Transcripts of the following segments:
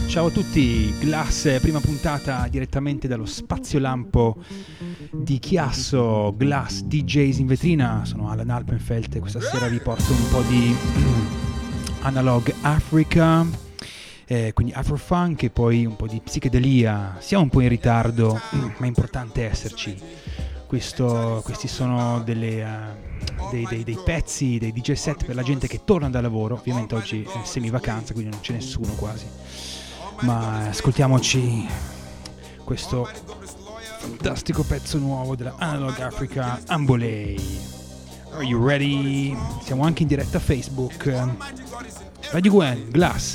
Ciao a tutti, Glass, prima puntata direttamente dallo spazio lampo di Chiasso, Glass DJs in vetrina, sono Alan Alpenfeld e questa sera vi porto un po' di Analog Africa, quindi Afrofunk e poi un po' di psichedelia. Siamo un po' in ritardo, ma è importante esserci. Questi sono dei pezzi, dei DJ set per la gente che torna dal lavoro. Ovviamente oggi è semi-vacanza, quindi non c'è nessuno quasi. Ma ascoltiamoci questo fantastico pezzo nuovo della Analog Africa, Ambolei. Are you ready? Siamo anche in diretta a Facebook. Radio Gwen, Glass.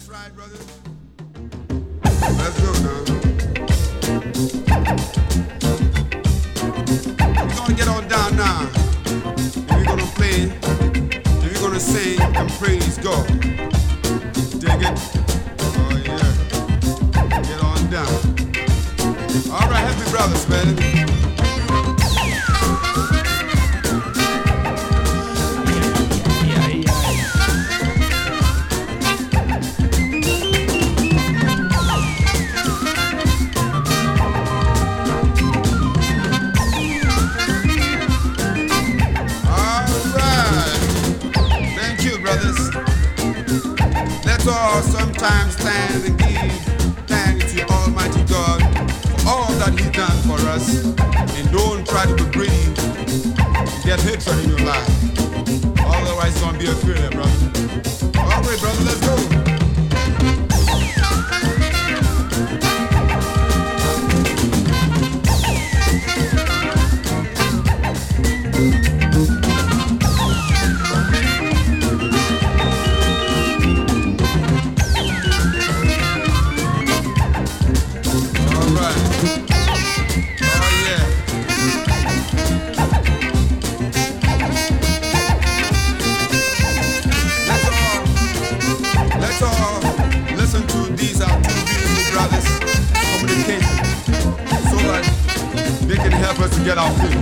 Let's go now. We're gonna get on down now. We're gonna play, and we're gonna sing and praise God. Dig it? Oh yeah. Get on down. All right, happy brothers, man. Sometimes stand and give thanks to Almighty God for all that He's done for us, and don't try to be greedy, get hatred in your life. Otherwise, it's gonna be a failure, brother. All right, brother, let's go. Get out here.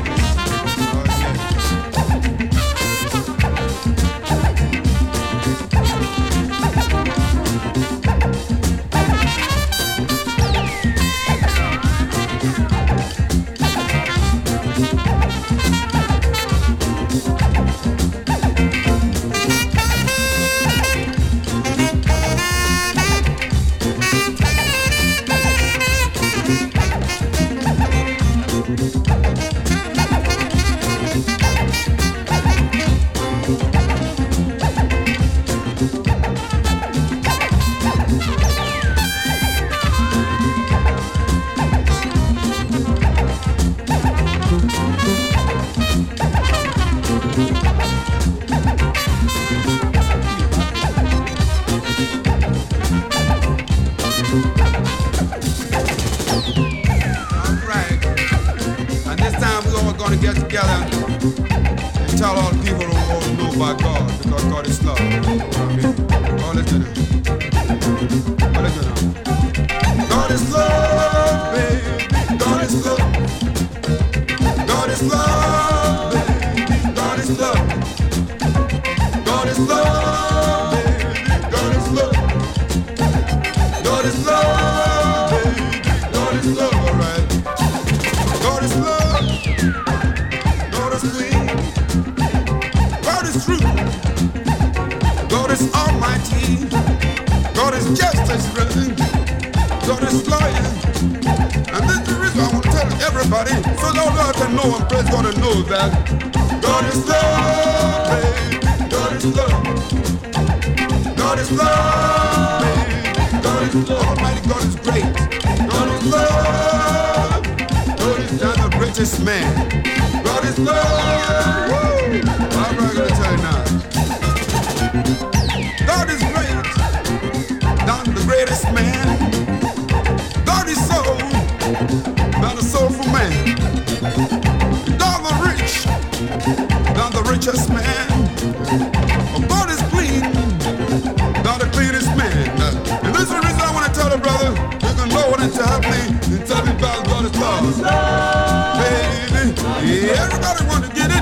Everybody want to get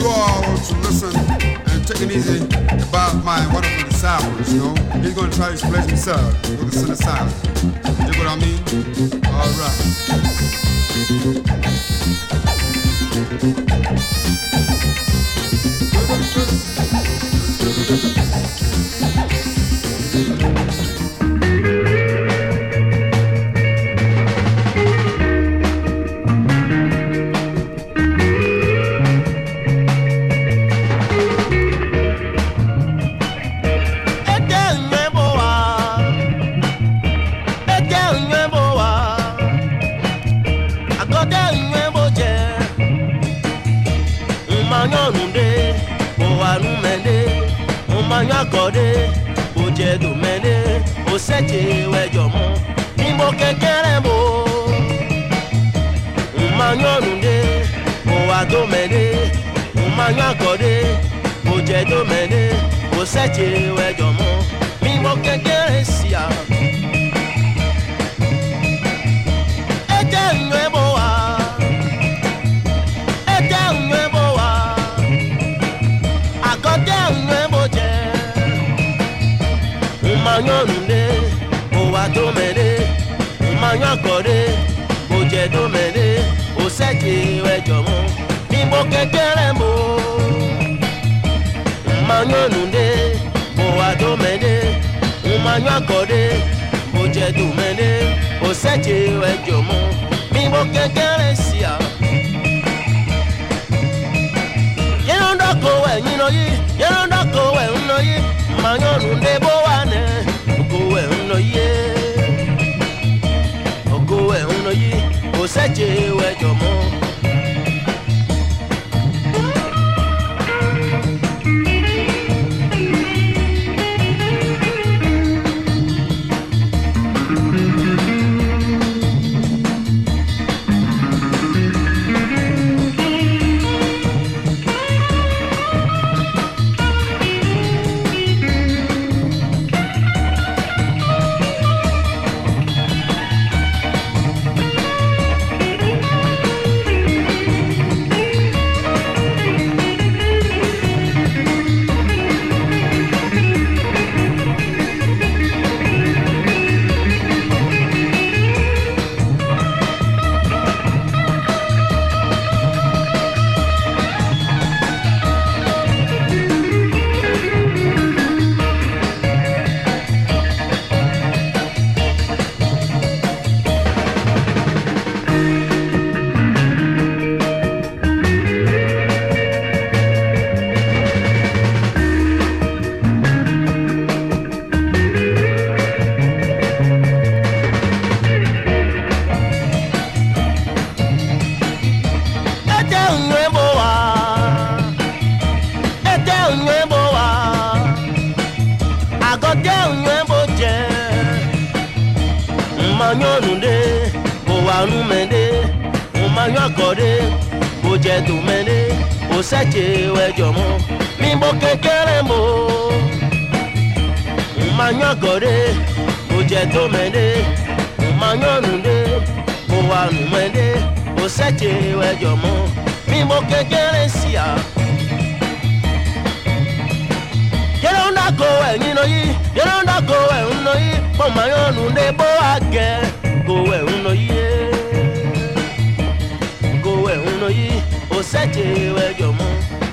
you all to listen and take it easy about my wonderful disciples, you know. He's going to try to explain himself with the synthesizer. You know what I mean? All right. Akode oje do mene o seje wejo mo ni mo kekere mo umanyonunde o wa do mene umanyakode oje do mene o seje wejo mo ni mo kekere sia eje nwebo wa akode nwebo je umanyonunde owa domene umanyakode oje domene oseje wejomo nimbo kekere mo umanyonunde owa domene umanyakode oje domene oseje wejomo nimbo kekere sia yerondako we nyinoyi yerondako we unoyi umanyonunde bo ogowe uno yi oseje wejo mo umanyonunde owanumende umanyakode oje domene oseje wejomo mimbo kekere mo umanyakode oje domene umanyonunde owanumende oseje wejomo mimbo kekere sia yerondako we nyinoyi yerondako we unoyi umanyonunde bo age gowe unoyi oseje wejomo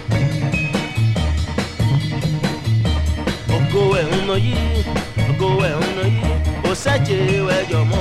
ogowe unoyi oseje wejomo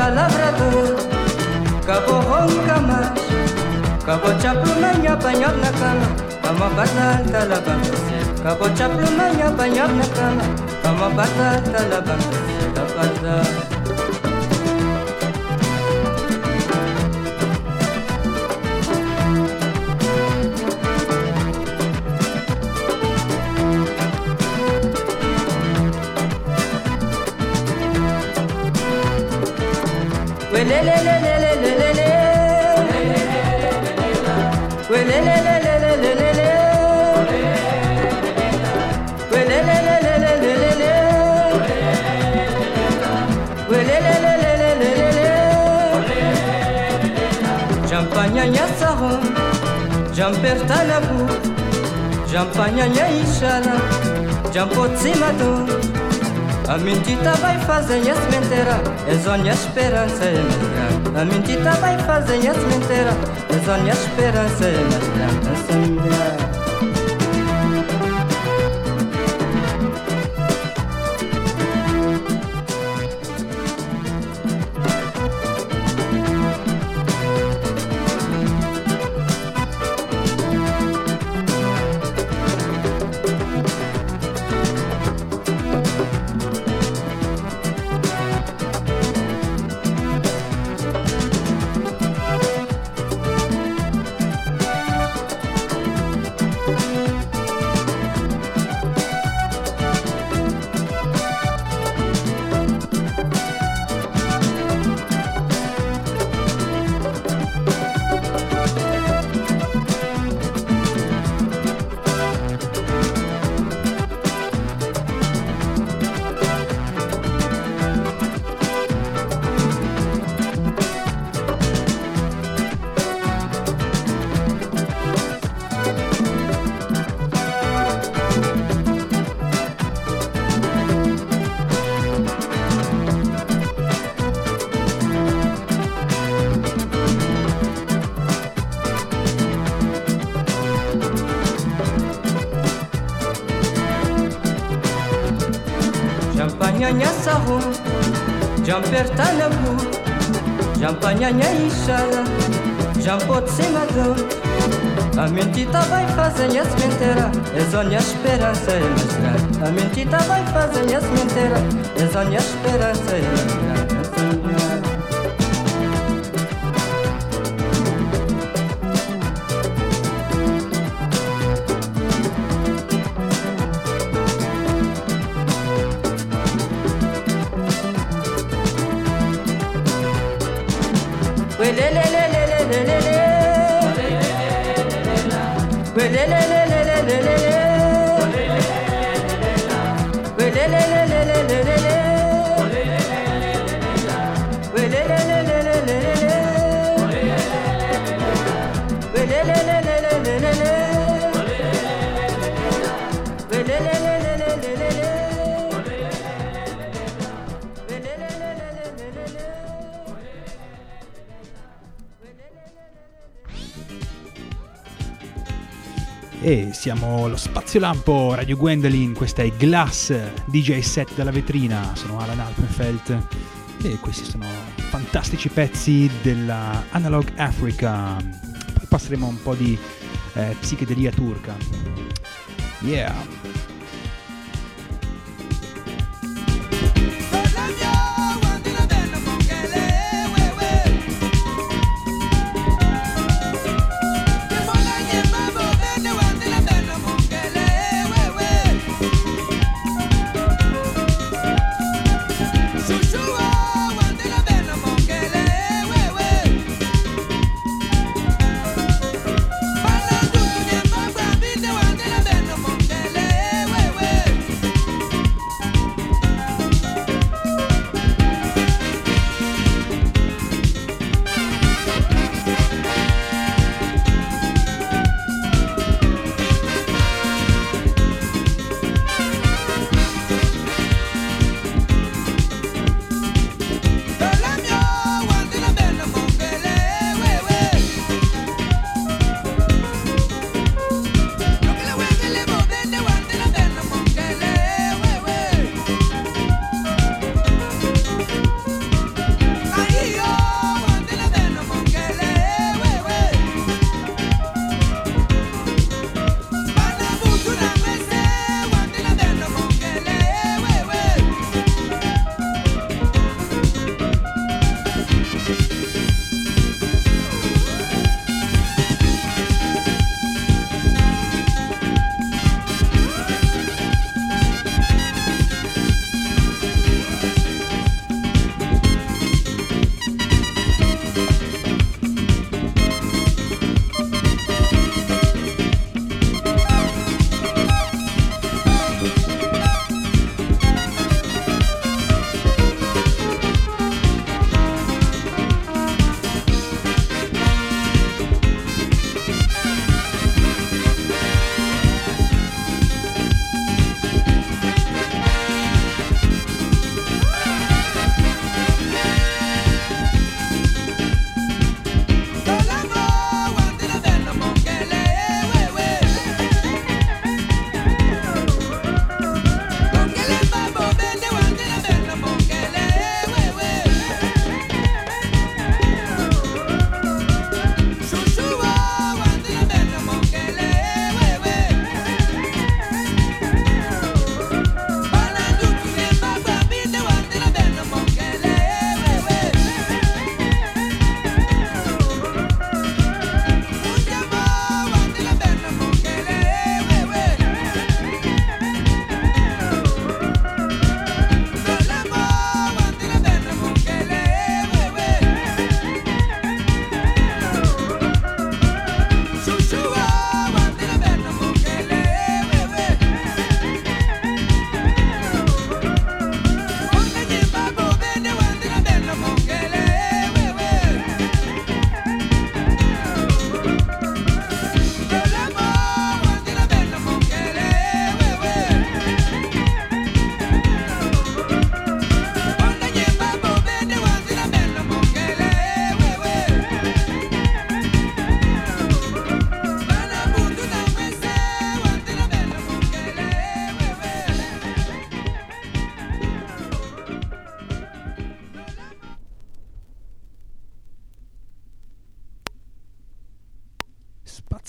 labrador, cabo ronca cabo chaplumanya banyak na cama, cama batata la banca, cabo chaplumanya banyak na cama, cama batata la banca, Jampanyanya sahom, jamperta la bu, jampanyanya ishala, jampot simado. A mentita vai fazer as mentira, é zonha esperança é mais grande. A mentita vai fazer as mentira, é zonha esperança é mais grande. Jampanyanya sahur, jamperta la bu, jampanyanya ishala, jampot simado. A mentita vai fazer as mentira, é zonha esperança é mais grande. A mentita vai fazer as mentira, é zonha esperança é mais grande. E siamo allo Spazio Lampo Radio Gwendolyn, questa è Glass DJ set dalla vetrina, sono Alan Alpenfeld e questi sono fantastici pezzi della Analog Africa. Poi passeremo un po' di psichedelia turca. Yeah. Bala dutu ne magwa binde wangela beno mongele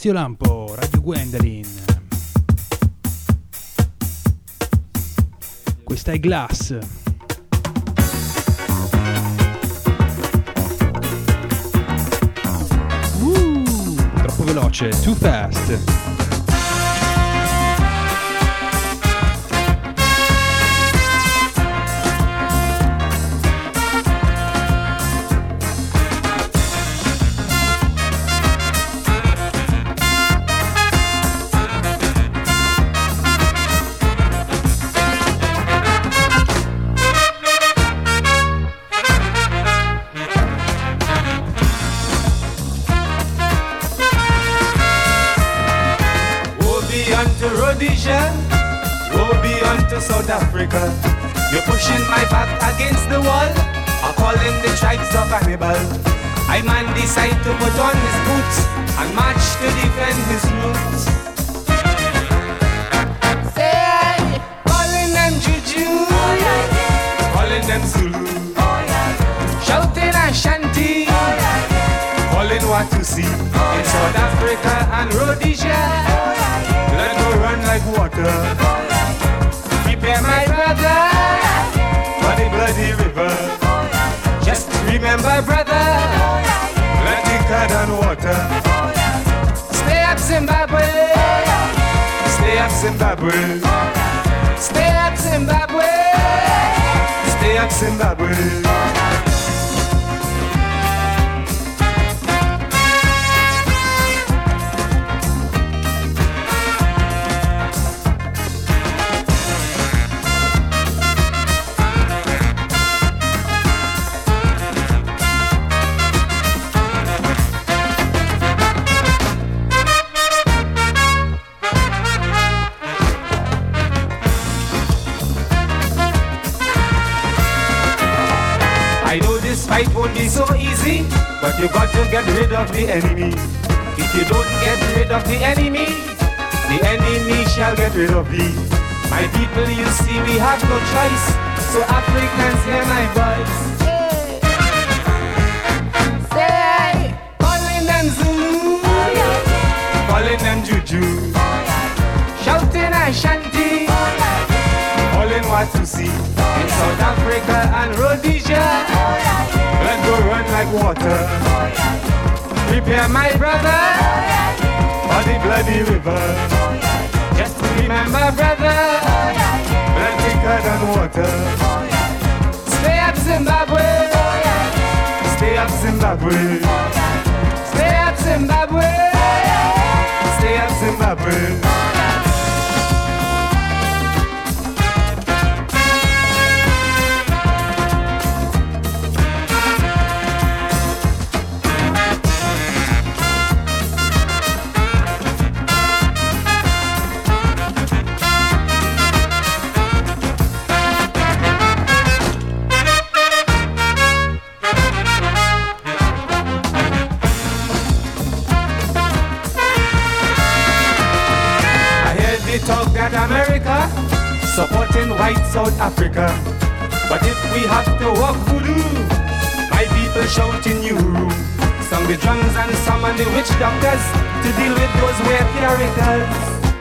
Spazio Lampo, Radio Gwendolyn. Questa è Glass. Troppo veloce, too fast. South Africa, you're pushing my back against the wall, I call them the tribes of Hannibal. I man decide to put on his boots and march to defend his roots. Say, calling them Juju, calling them Zulu, shouting Ashanti, calling Watusi. In South Africa and Rhodesia, let go run like water. Prepare my brother for the bloody river. Just remember, brother, blood thicker than water. Stay up, Zimbabwe. Stay up, Zimbabwe. Stay up, Zimbabwe. Stay up, Zimbabwe. Fight won't be so easy, but you got to get rid of the enemy. If you don't get rid of the enemy shall get rid of thee. My people, you see, we have no choice, so Africans hear my voice. Say, calling them Zulu, calling them Juju, shouting Ashanti, calling Watusi. In South Africa and Rhodesia, let go run like water. Prepare my brother for the bloody river. Just remember, brother, blood thicker than water. Stay up, Zimbabwe. Stay up, Zimbabwe. Stay up, Zimbabwe. Stay up, Zimbabwe. Talk that America supporting white South Africa, but if we have to walk voodoo, my people shouting you. Sung the drums and summon the witch doctors to deal with those weird characters.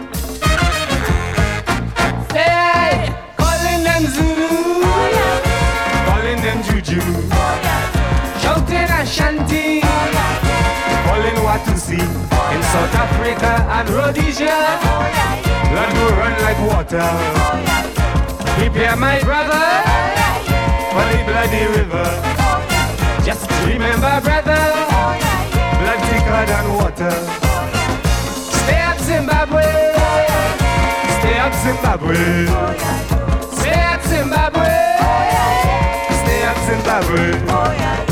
Say, calling them Zulu, calling them Juju, shouting Ashanti, calling Watusi. In South Africa and Rhodesia, blood will run like water. Prepare my brother for the bloody river. Just remember, brother, blood thicker than water. Stay up, Zimbabwe. Stay up, Zimbabwe. Stay up, Zimbabwe. Stay up, Zimbabwe.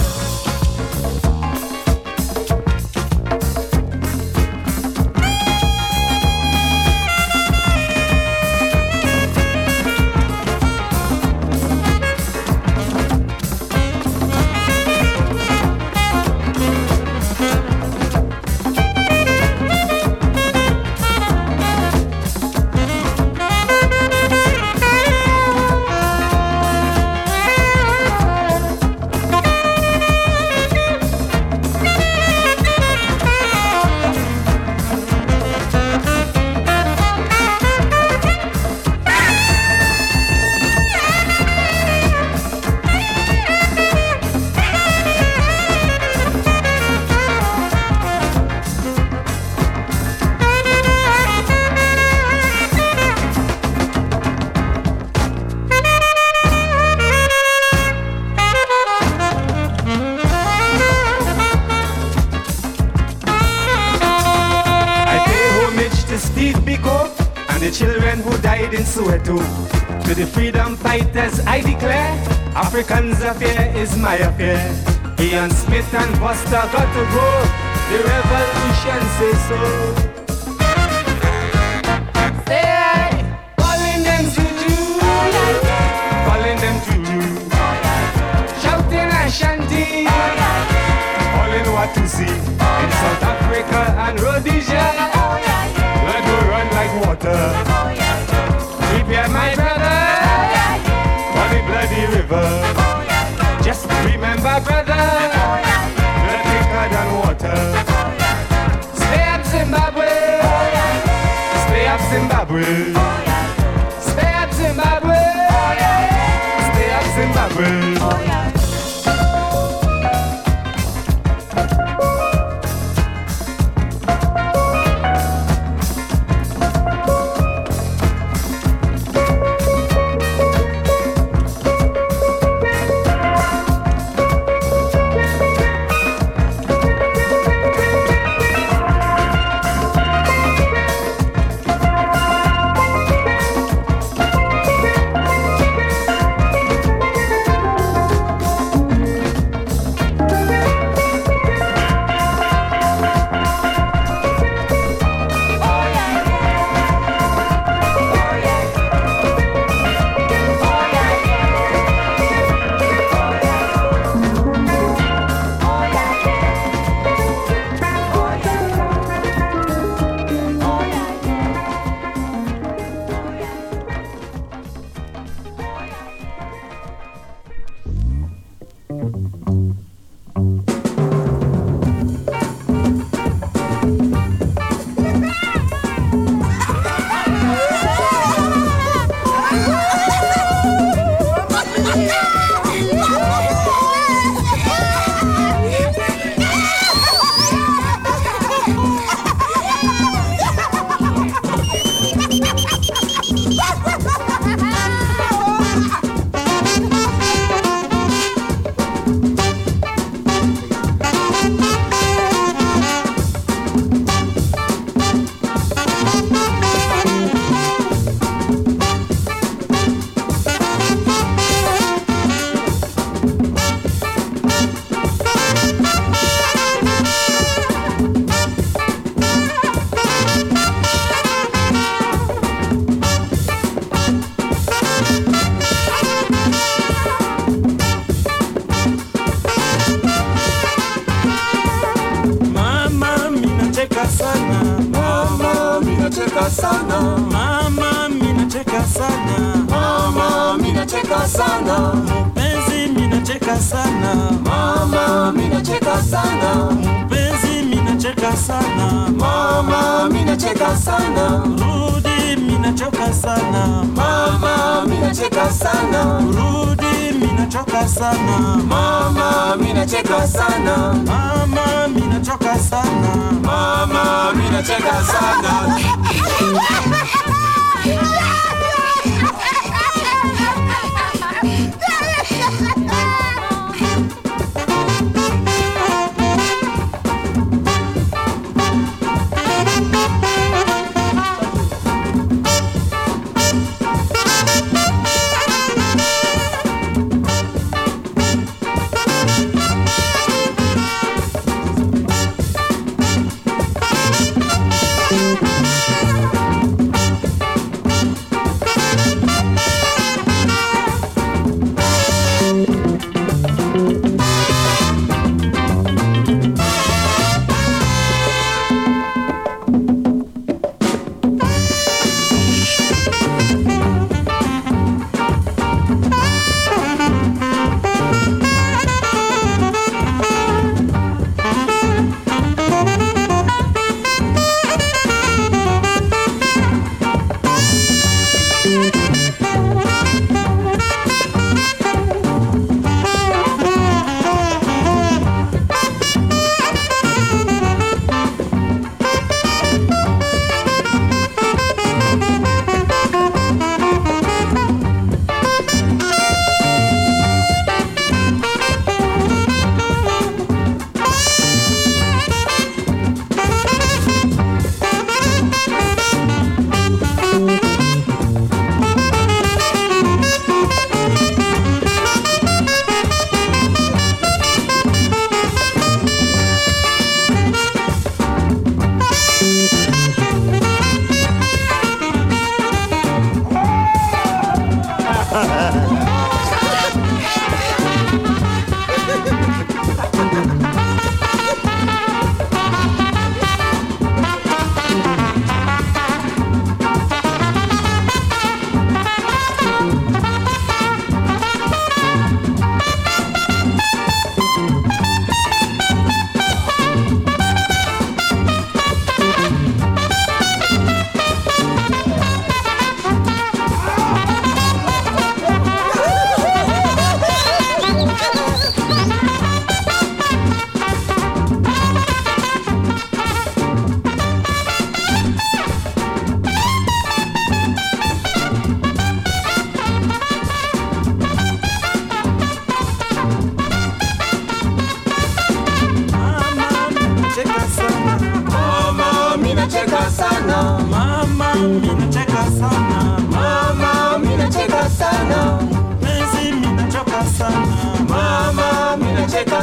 man who died in Soweto. To the freedom fighters I declare, Africans' affair is my affair. Ian Smith and Buster got to go, the revolution says so. Say, calling them juju, calling them juju, shouting Ashanti, calling Watusi in South Africa and Rhodesia. Blood will run like water. Prepare my brother for the bloody river. Just remember, brother, blood thicker than water. Stay up, Zimbabwe. Stay up, Zimbabwe. Stay up, Zimbabwe. Stay up, Zimbabwe.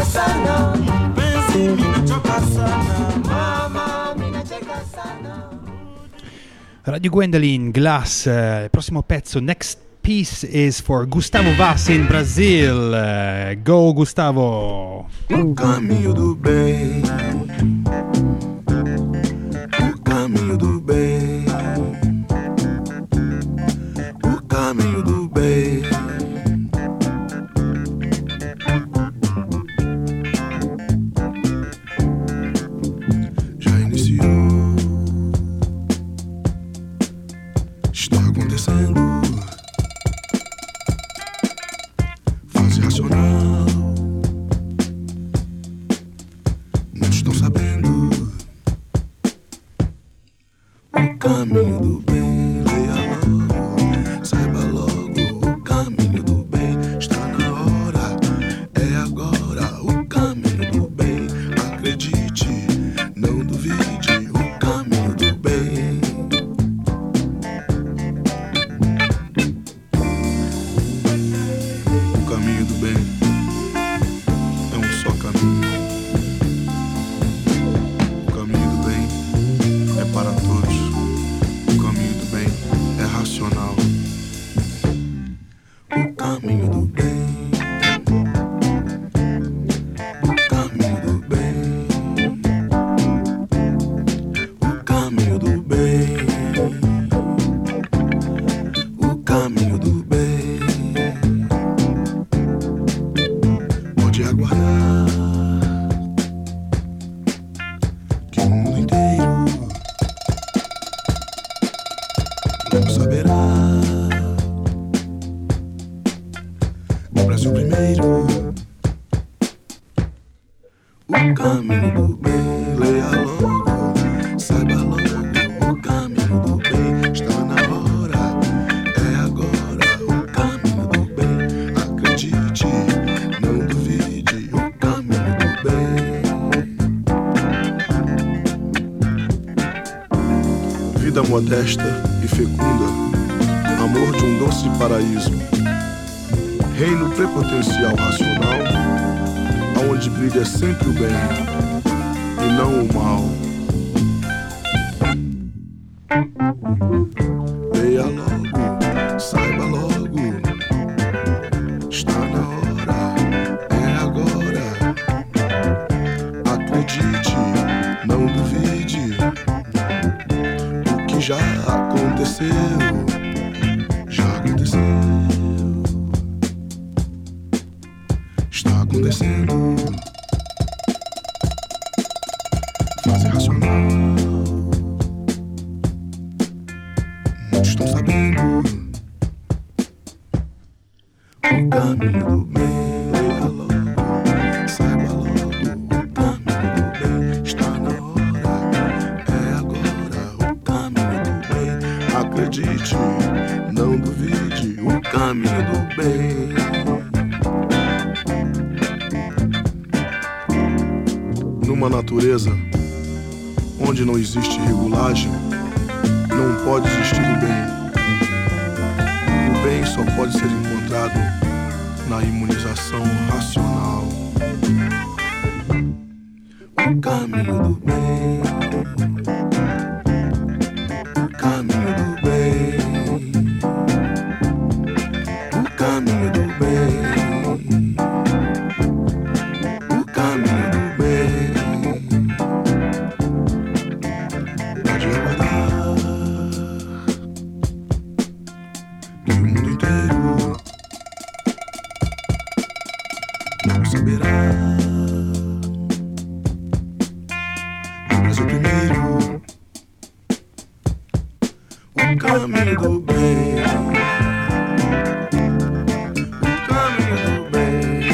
sana. Penzi minachoka sana. Mama, minacheka sana. Radio Gwendolyn, Glass, il prossimo pezzo, Next Piece is for Gustavo Vaz in Brazil. Go Gustavo! O caminho do bem, o caminho do bem, o caminho do bem. Já iniciou, está acontecendo. Fase racional. Não estão sabendo o caminho do bem. Leia logo, saiba logo. O caminho do bem está na hora, é agora. O caminho do bem, acredite, não duvide. O caminho do bem. O caminho do bem é um só caminho. O caminho do bem é para todos. O caminho do bem é racional. O caminho do bem. O caminho do bem. O caminho do bem. O caminho do bem. Pode aguardar que o mundo inteiro logo saberá. O Brasil primeiro. O caminho do bem, leia logo, saiba logo. O caminho do bem está na hora, é agora. O caminho do bem, acredite, não duvide. O caminho do bem. Vida modesta e fecunda, amor de um doce paraíso, reino prepotencial racional, aonde brilha sempre o bem e não o mal. Leia logo, saiba logo, está na hora, é agora. Acredite, não duvide. O que já aconteceu, já aconteceu. Está acontecendo. Fase racional. Muitos estão sabendo. O caminho do bem, leia logo, saiba logo. O caminho do bem está na hora, é agora. O caminho do bem, acredite, não duvide. O caminho do bem. Numa natureza onde não existe regulagem, não pode existir o bem. O bem só pode ser encontrado na imunização racional. O caminho do bem. O caminho do bem. O caminho do bem. O caminho do bem. Pode aguardar que o mundo inteiro não saberá. O Brasil primeiro. O caminho do bem. O caminho do bem.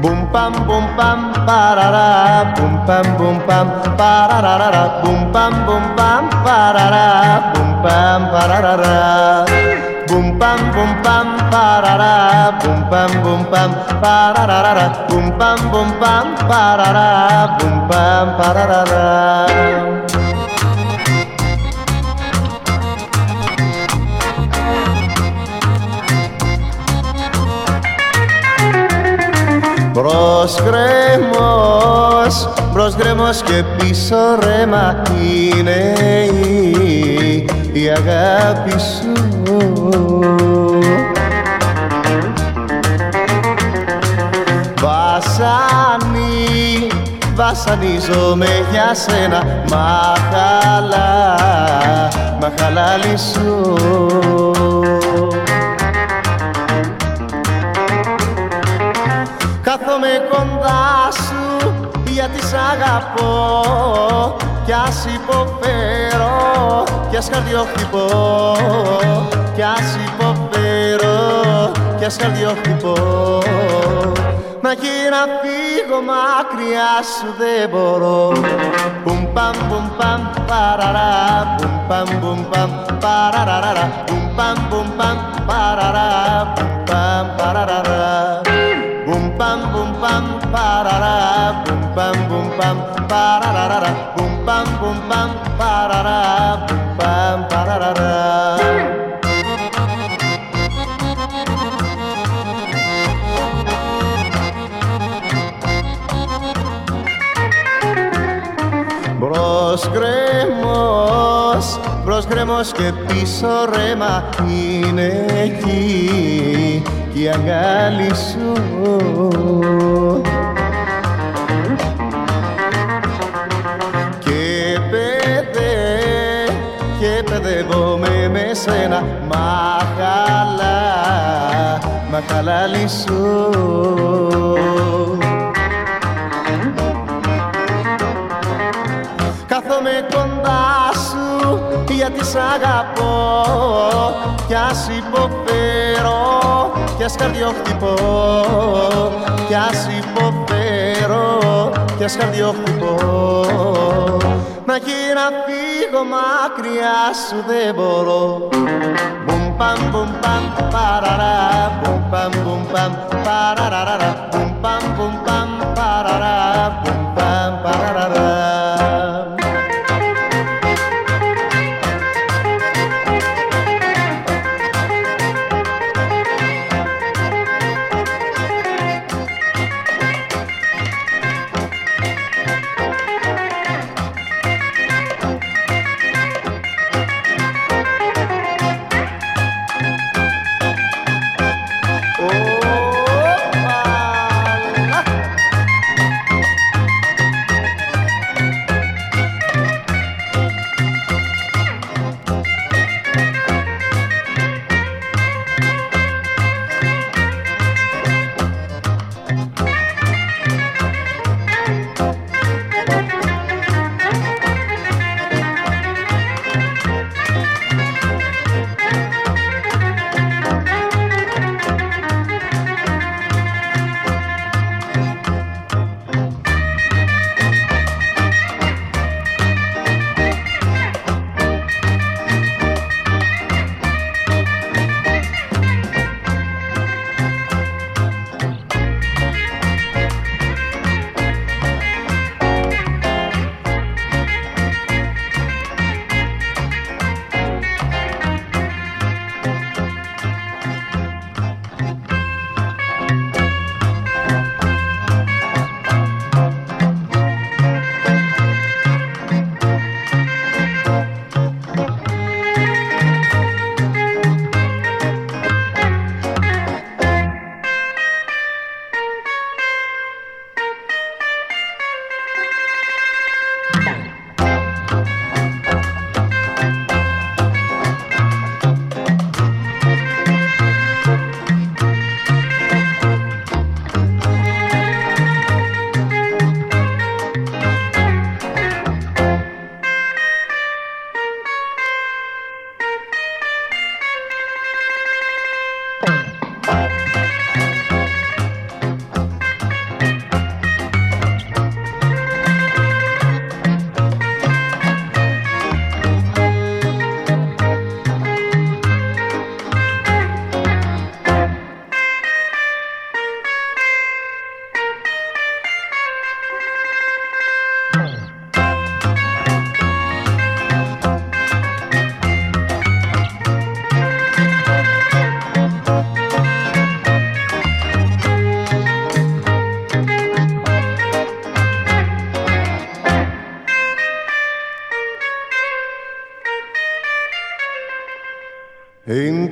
Boom pam parara, boom pam parara, boom pam parara, boom pam parara. Boom pam parara, boom pam parara, boom pam parara, boom pam parara. Μπρος γκρέμος και πίσω ρέμα είναι η αγάπη σου. Βασανίζομαι για σένα, μαχαλάλι σου. Κάθομαι κοντά σου γιατί σ' αγαπώ κι ας υποφέρω, κι ας καρδιοχτυπώ, κι ας υποφέρω, κι ας καρδιοχτυπώ. Μα και να φύγω μακριά σου δεν μπορώ. Πουμ παμ παραρά, πουμ παμ παραρά, πουμ παμ παραρά, πουμ παμ παραρά. Boom pam parara, boom pam parara, boom pam parara, boom pam parara. Μπρος γκρέμος και πίσω ρέμα είναι εκεί κι η αγκάλι σου. Και παιδεύομαι με σένα, μαχαλάλι σου. Κάθομαι κοντά σου γιατί σ' αγαπώ κι ας υποφέρω, κι ας καρδιοχτυπώ, κι ας υποφέρω, κι ας καρδιοχτυπώ. Μα και να φύγω μακριά σου δεν μπορώ. Μπουμ παμ παραρά, μπουμ παμ παραρά, μπουμ παμ παραρά, μπουμ παμ παραρά.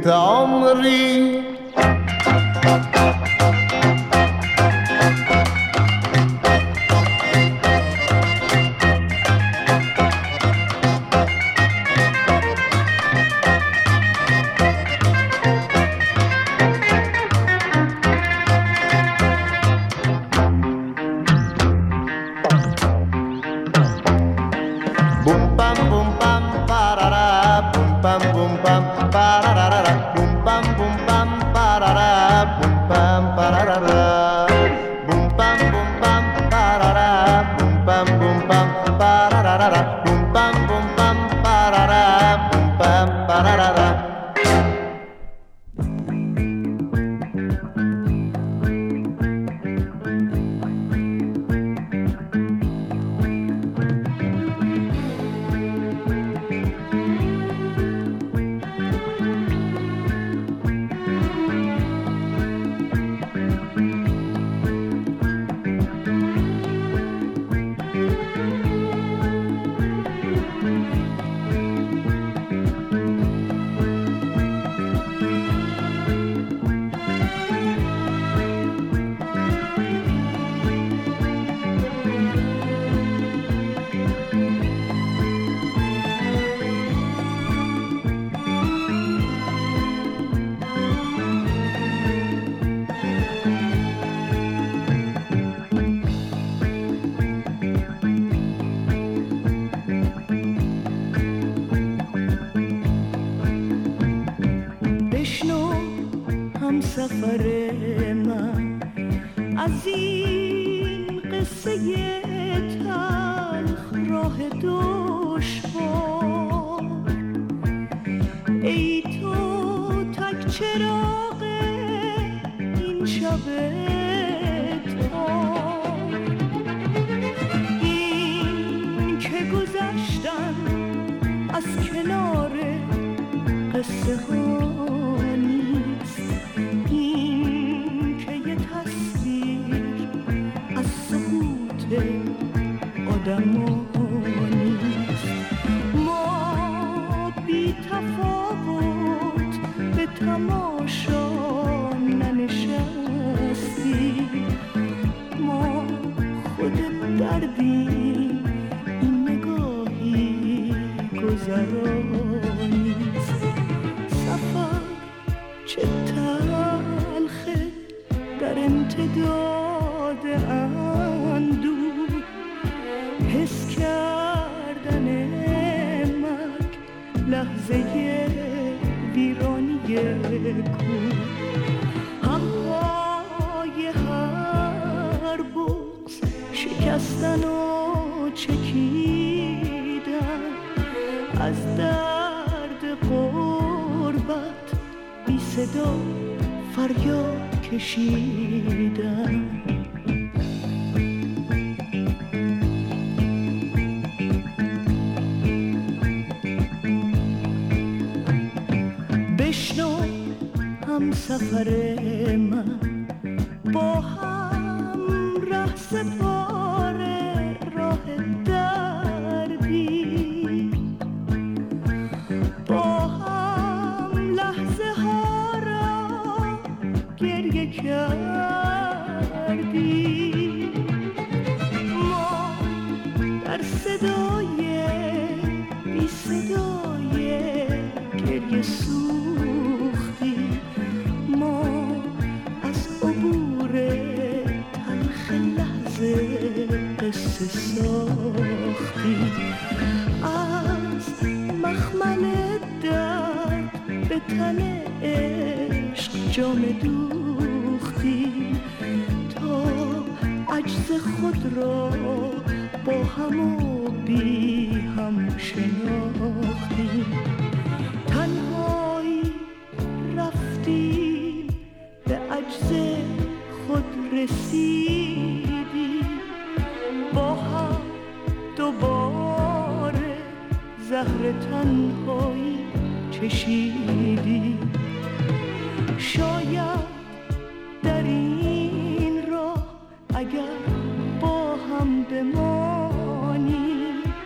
عمري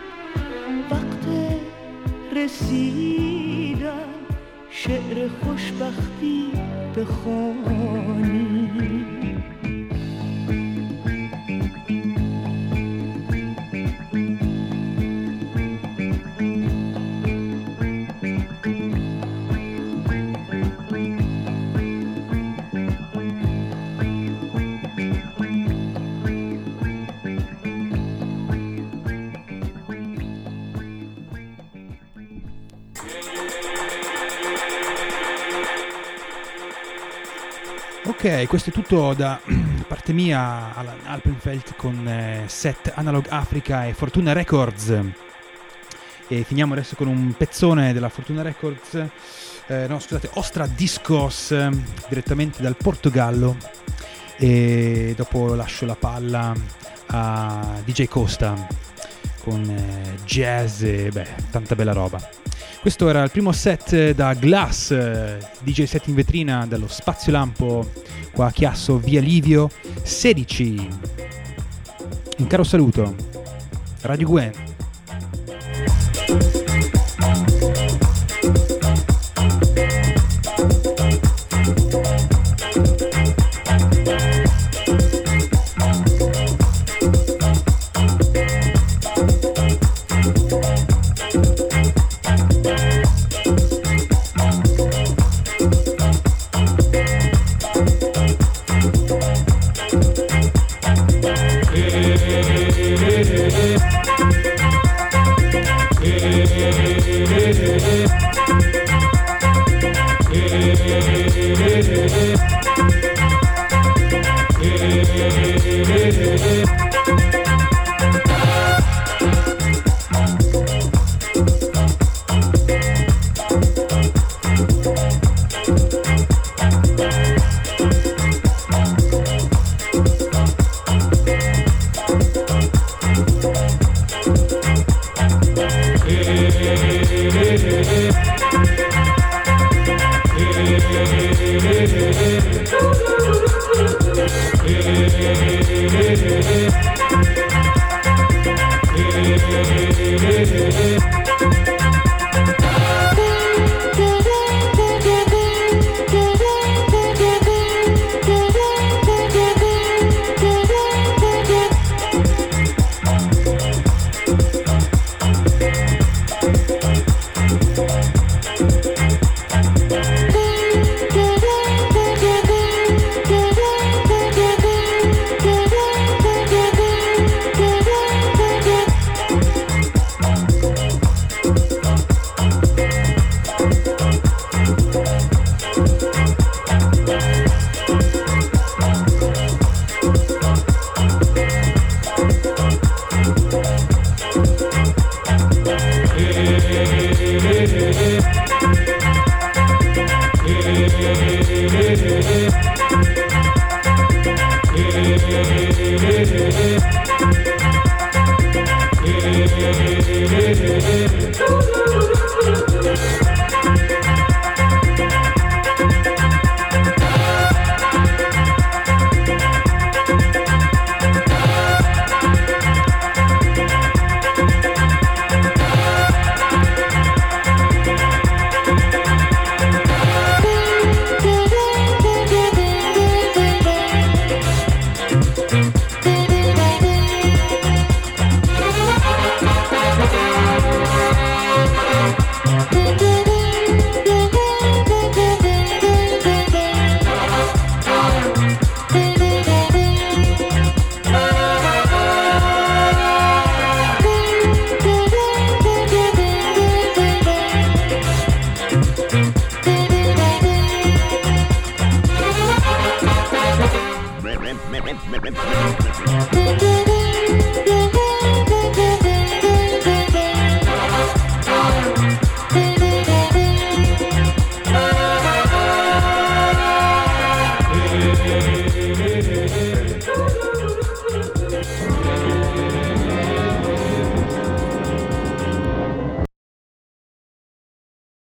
رسیدن شعر خوش משפחתי בחוני. Ok, questo è tutto da parte mia Alan Alpenfeld con Set Analog Africa e Fortuna Records. E finiamo adesso con un pezzone della Fortuna Records, Ostra Discos, direttamente dal Portogallo. E dopo lascio la palla a DJ Costa con jazz e tanta bella roba. Questo era il primo set da Glass, DJ set in vetrina dallo Spazio Lampo qua a Chiasso, via Livio 16. Un caro saluto, Radio Gwen.